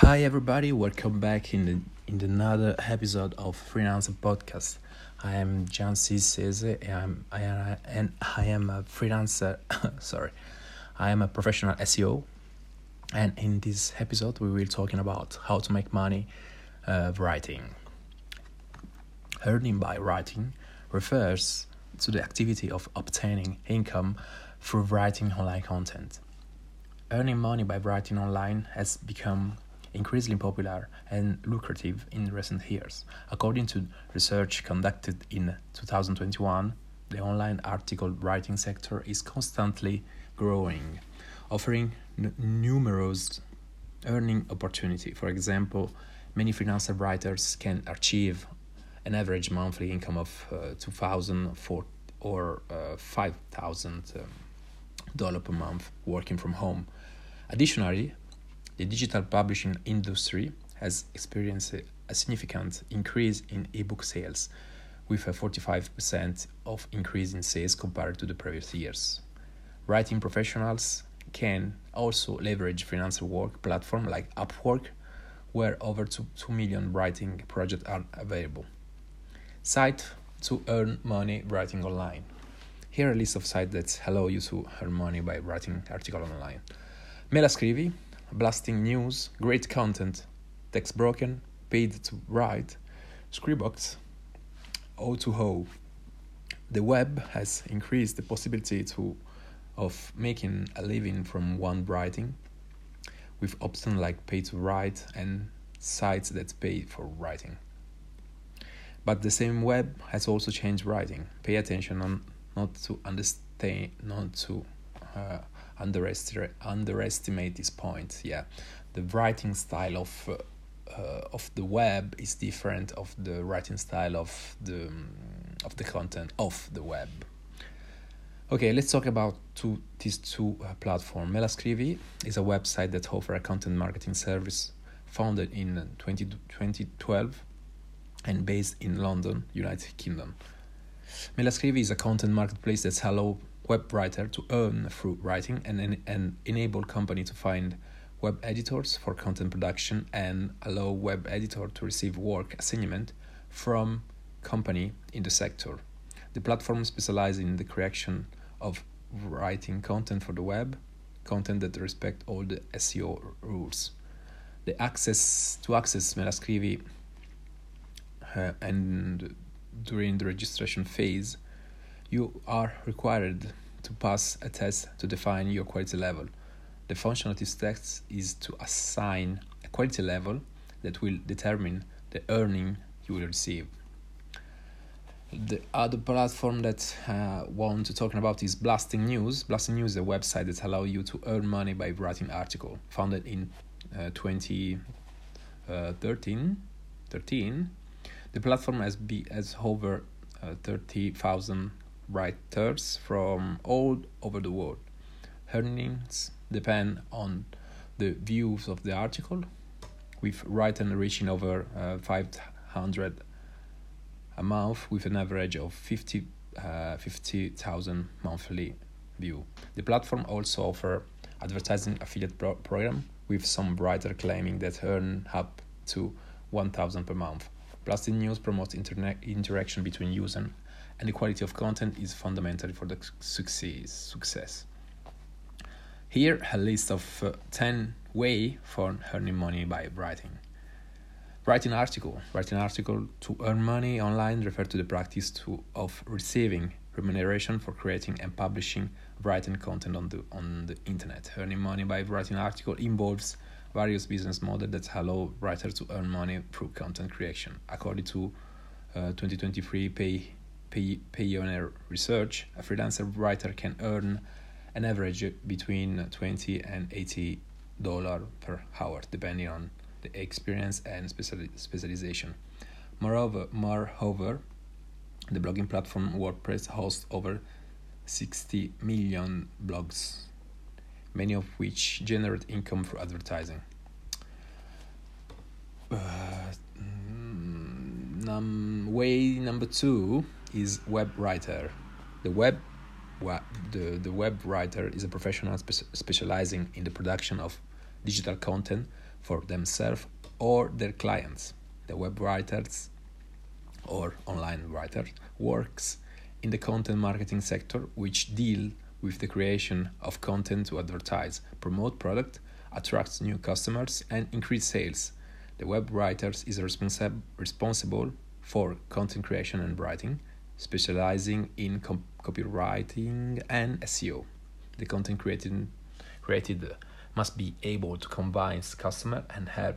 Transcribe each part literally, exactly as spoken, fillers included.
Hi everybody, welcome back in the in another episode of Freelancer Podcast. I am Gian Cisse and I am and I am a freelancer. sorry, I am a professional S E O, and in this episode we will talking about how to make money uh, writing. Earning by writing refers to the activity of obtaining income through writing online content. Earning money by writing online has become increasingly popular and lucrative in recent years. According to research conducted in twenty twenty-one, the online article writing sector is constantly growing, offering n- numerous earning opportunities. For example, many freelancer writers can achieve an average monthly income of uh, two thousand dollars or uh, five thousand dollars um, per month working from home. Additionally, the digital publishing industry has experienced a significant increase in ebook sales, with a forty-five percent of increase in sales compared to the previous years. Writing professionals can also leverage freelancer work platforms like Upwork, where over two, two million writing projects are available. Sites to earn money writing online. Here are a list of sites that allow you to earn money by writing articles online. Me la scrivi, Blasting News, Great Content, Text Broken, Paid to Write, Scribox, O two O. The web has increased the possibility to of making a living from one writing, with options like Pay to Write and sites that pay for writing. But the same web has also changed writing. Pay attention on not to understand, not to uh, underestimate underestimate this point. Yeah, the writing style of uh, uh, of the web is different of the writing style of the um, of the content of the web. Okay, let's talk about two, these two uh, platforms. Me la scrivi is a website that offers a content marketing service founded in twenty twelve and based in London, United Kingdom. Me la scrivi is a content marketplace that allows web writer to earn through writing and, and enable company to find web editors for content production and allow web editor to receive work assignment from company in the sector. The platform specializes in the creation of writing content for the web, content that respect all the S E O rules. The access to access Me la scrivi uh, and during the registration phase, you are required to pass a test to define your quality level. The function of this test is to assign a quality level that will determine the earning you will receive. The other platform that I uh, want to talk about is Blasting News. Blasting News is a website that allows you to earn money by writing articles. Founded in uh, twenty thirteen, the platform has, be, has over uh, thirty thousand writers from all over the world. Earnings depend on the views of the article, with writers reaching over uh, five hundred a month with an average of fifty thousand monthly view. The platform also offers advertising affiliate pro- program, with some writers claiming that earn up to one thousand per month. Blasting News promotes internet interaction between users, and the quality of content is fundamental for the success. success. Here, a list of uh, ten ways for earning money by writing. Writing article. Writing article to earn money online refers to the practice to, of receiving remuneration for creating and publishing writing content on the on the internet. Earning money by writing article involves various business models that allow writers to earn money through content creation. According to uh, twenty twenty-three Pay Pioneer research, a freelancer writer can earn an average between twenty and eighty dollars per hour, depending on the experience and speciali- specialization. Moreover, moreover, the blogging platform WordPress hosts over sixty million blogs, many of which generate income through advertising. Uh, num- way number two is web writer. The web the, the web writer is a professional spe- specializing in the production of digital content for themselves or their clients. The web writers or online writer works in the content marketing sector, which deal with the creation of content to advertise, promote product, attract new customers, and increase sales. The web writer is responsi- responsible for content creation and writing, specializing in com- copywriting and S E O. The content created, created must be able to combine customer and help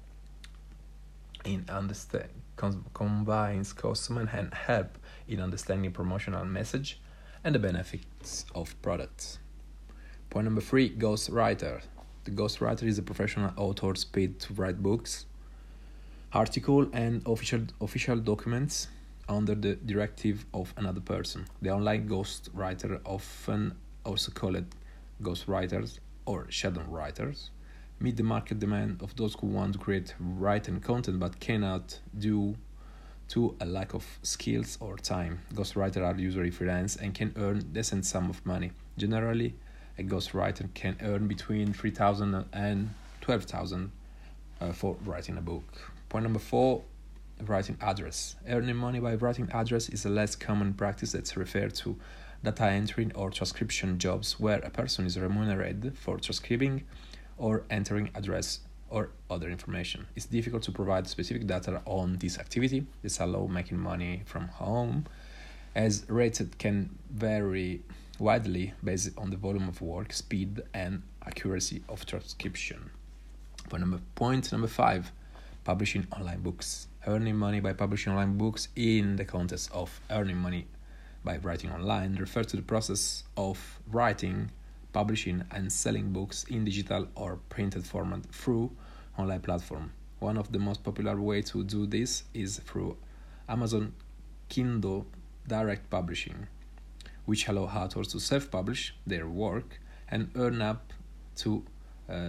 in understand com- combines customer and help in understanding promotional message and the benefits of products. Point number three, ghostwriter. The ghostwriter is a professional author paid to write books, article and official official documents under the directive of another person. The online ghostwriter, often also called ghostwriters or shadow writers, meet the market demand of those who want to create written content but cannot due to a lack of skills or time. Ghostwriters are usually freelance and can earn decent sum of money. Generally, a ghostwriter can earn between three thousand and twelve thousand uh, for writing a book. Point number four, writing address. Earning money by writing address is a less common practice that's referred to data entry or transcription jobs where a person is remunerated for transcribing or entering address or other information. It's difficult to provide specific data on this activity. This allows making money from home, as rates can vary widely based on the volume of work, speed, and accuracy of transcription. Point number, point number five, publishing online books. Earning money by publishing online books in the context of earning money by writing online refers to the process of writing, publishing, and selling books in digital or printed format through online platform. One of the most popular ways to do this is through Amazon Kindle Direct Publishing, which allow authors to self-publish their work and earn up to uh,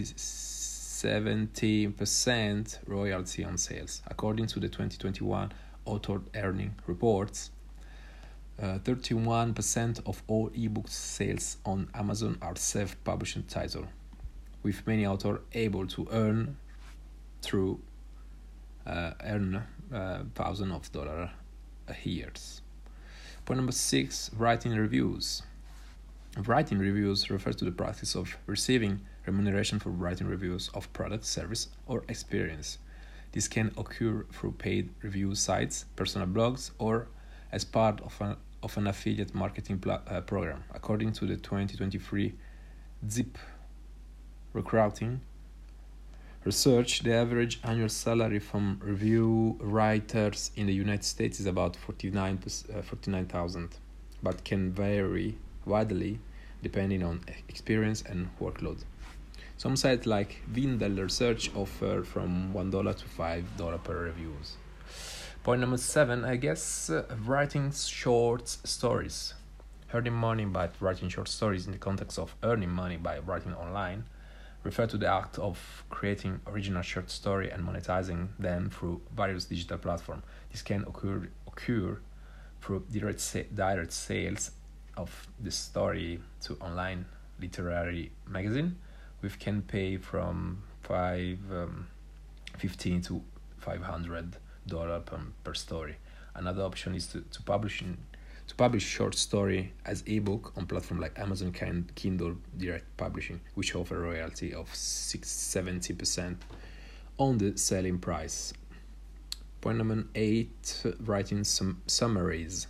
seventy percent royalty on sales. According to the twenty twenty-one Author Earning Reports, uh, thirty-one percent of all ebooks sales on Amazon are self-published titles, with many authors able to earn through uh, earn uh, thousands of dollars a year. Point number six, writing reviews. Writing reviews refers to the practice of receiving remuneration for writing reviews of product, service, or experience. This can occur through paid review sites, personal blogs, or as part of an, of an affiliate marketing pl- uh, program. According to the twenty twenty-three Zip Recruiting research, the average annual salary from review writers in the United States is about forty-nine thousand, but can vary widely depending on experience and workload. Some sites like Vindel Research offer from one dollar to five dollars per reviews. Point number seven, I guess, uh, writing short stories. Earning money by writing short stories in the context of earning money by writing online refer to the act of creating original short story and monetizing them through various digital platforms. This can occur occur through direct sa- direct sales of the story to online literary magazine, which can pay from five um, fifteen to five hundred dollar per, per story. Another option is to, to publish in, to publish short story as ebook on platforms like Amazon Kindle Direct Publishing, which offer a royalty of six seventy percent on the selling price. Point number eight, writing some summaries.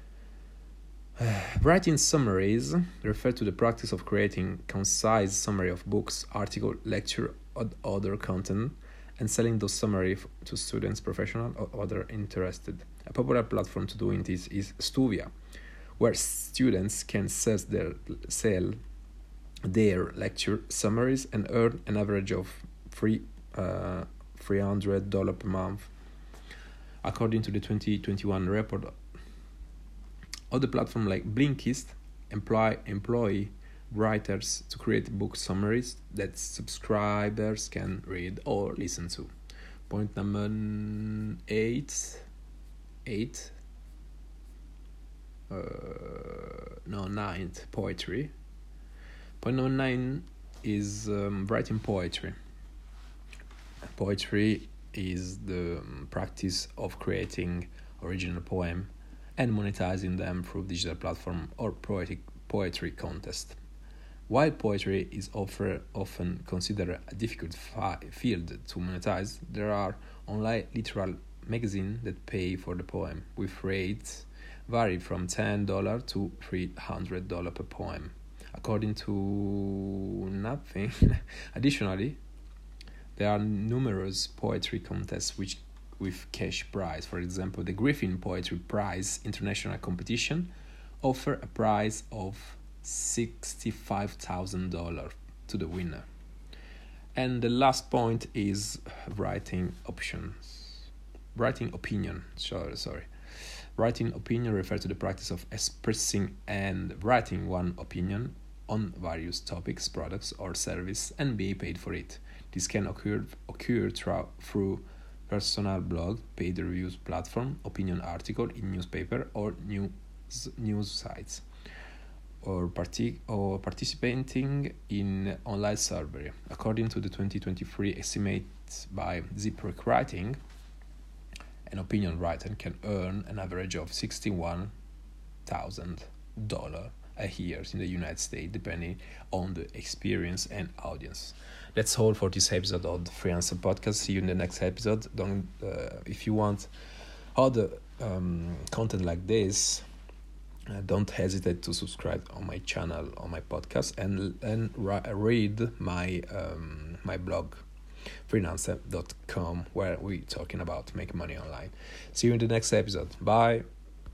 Uh, writing summaries refer to the practice of creating concise summary of books, article, lecture, or other content, and selling those summaries to students, professionals, or other interested. A popular platform to doing this is Stuvia, where students can sell their, sell their lecture summaries and earn an average of three, uh, three hundred dollars per month. According to the twenty twenty-one report, other platforms like Blinkist employ employ writers to create book summaries that subscribers can read or listen to. Point number eight, eight, uh, no ninth, poetry. Point number nine is um, writing poetry. Poetry is the um, practice of creating original poem and monetizing them through digital platform or poetic poetry contest. While poetry is offer, often considered a difficult fi- field to monetize, there are online literal magazines that pay for the poem, with rates vary from ten dollars to three hundred dollars per poem, according to Nothing. Additionally, there are numerous poetry contests which with cash prize. For example, the Griffin Poetry Prize International Competition offer a prize of sixty-five thousand dollars to the winner. And the last point is writing options. Writing opinion, sorry, sorry. Writing opinion refers to the practice of expressing and writing one opinion on various topics, products, or service and be paid for it. This can occur occur through, through personal blog, paid reviews platform, opinion article in newspaper or news news sites, or partic- or participating in online survey. According to the twenty twenty-three estimates by ZipRec Writing, an opinion writer can earn an average of sixty-one thousand dollars a year in the United States, depending on the experience and audience. That's all for this episode of the Freelancer Podcast. See you in the next episode. Don't uh, if you want other um, content like this, uh, don't hesitate to subscribe on my channel, on my podcast, and and ra- read my um, my blog, freelancer dot com, where we're talking about making money online. See you in the next episode. Bye.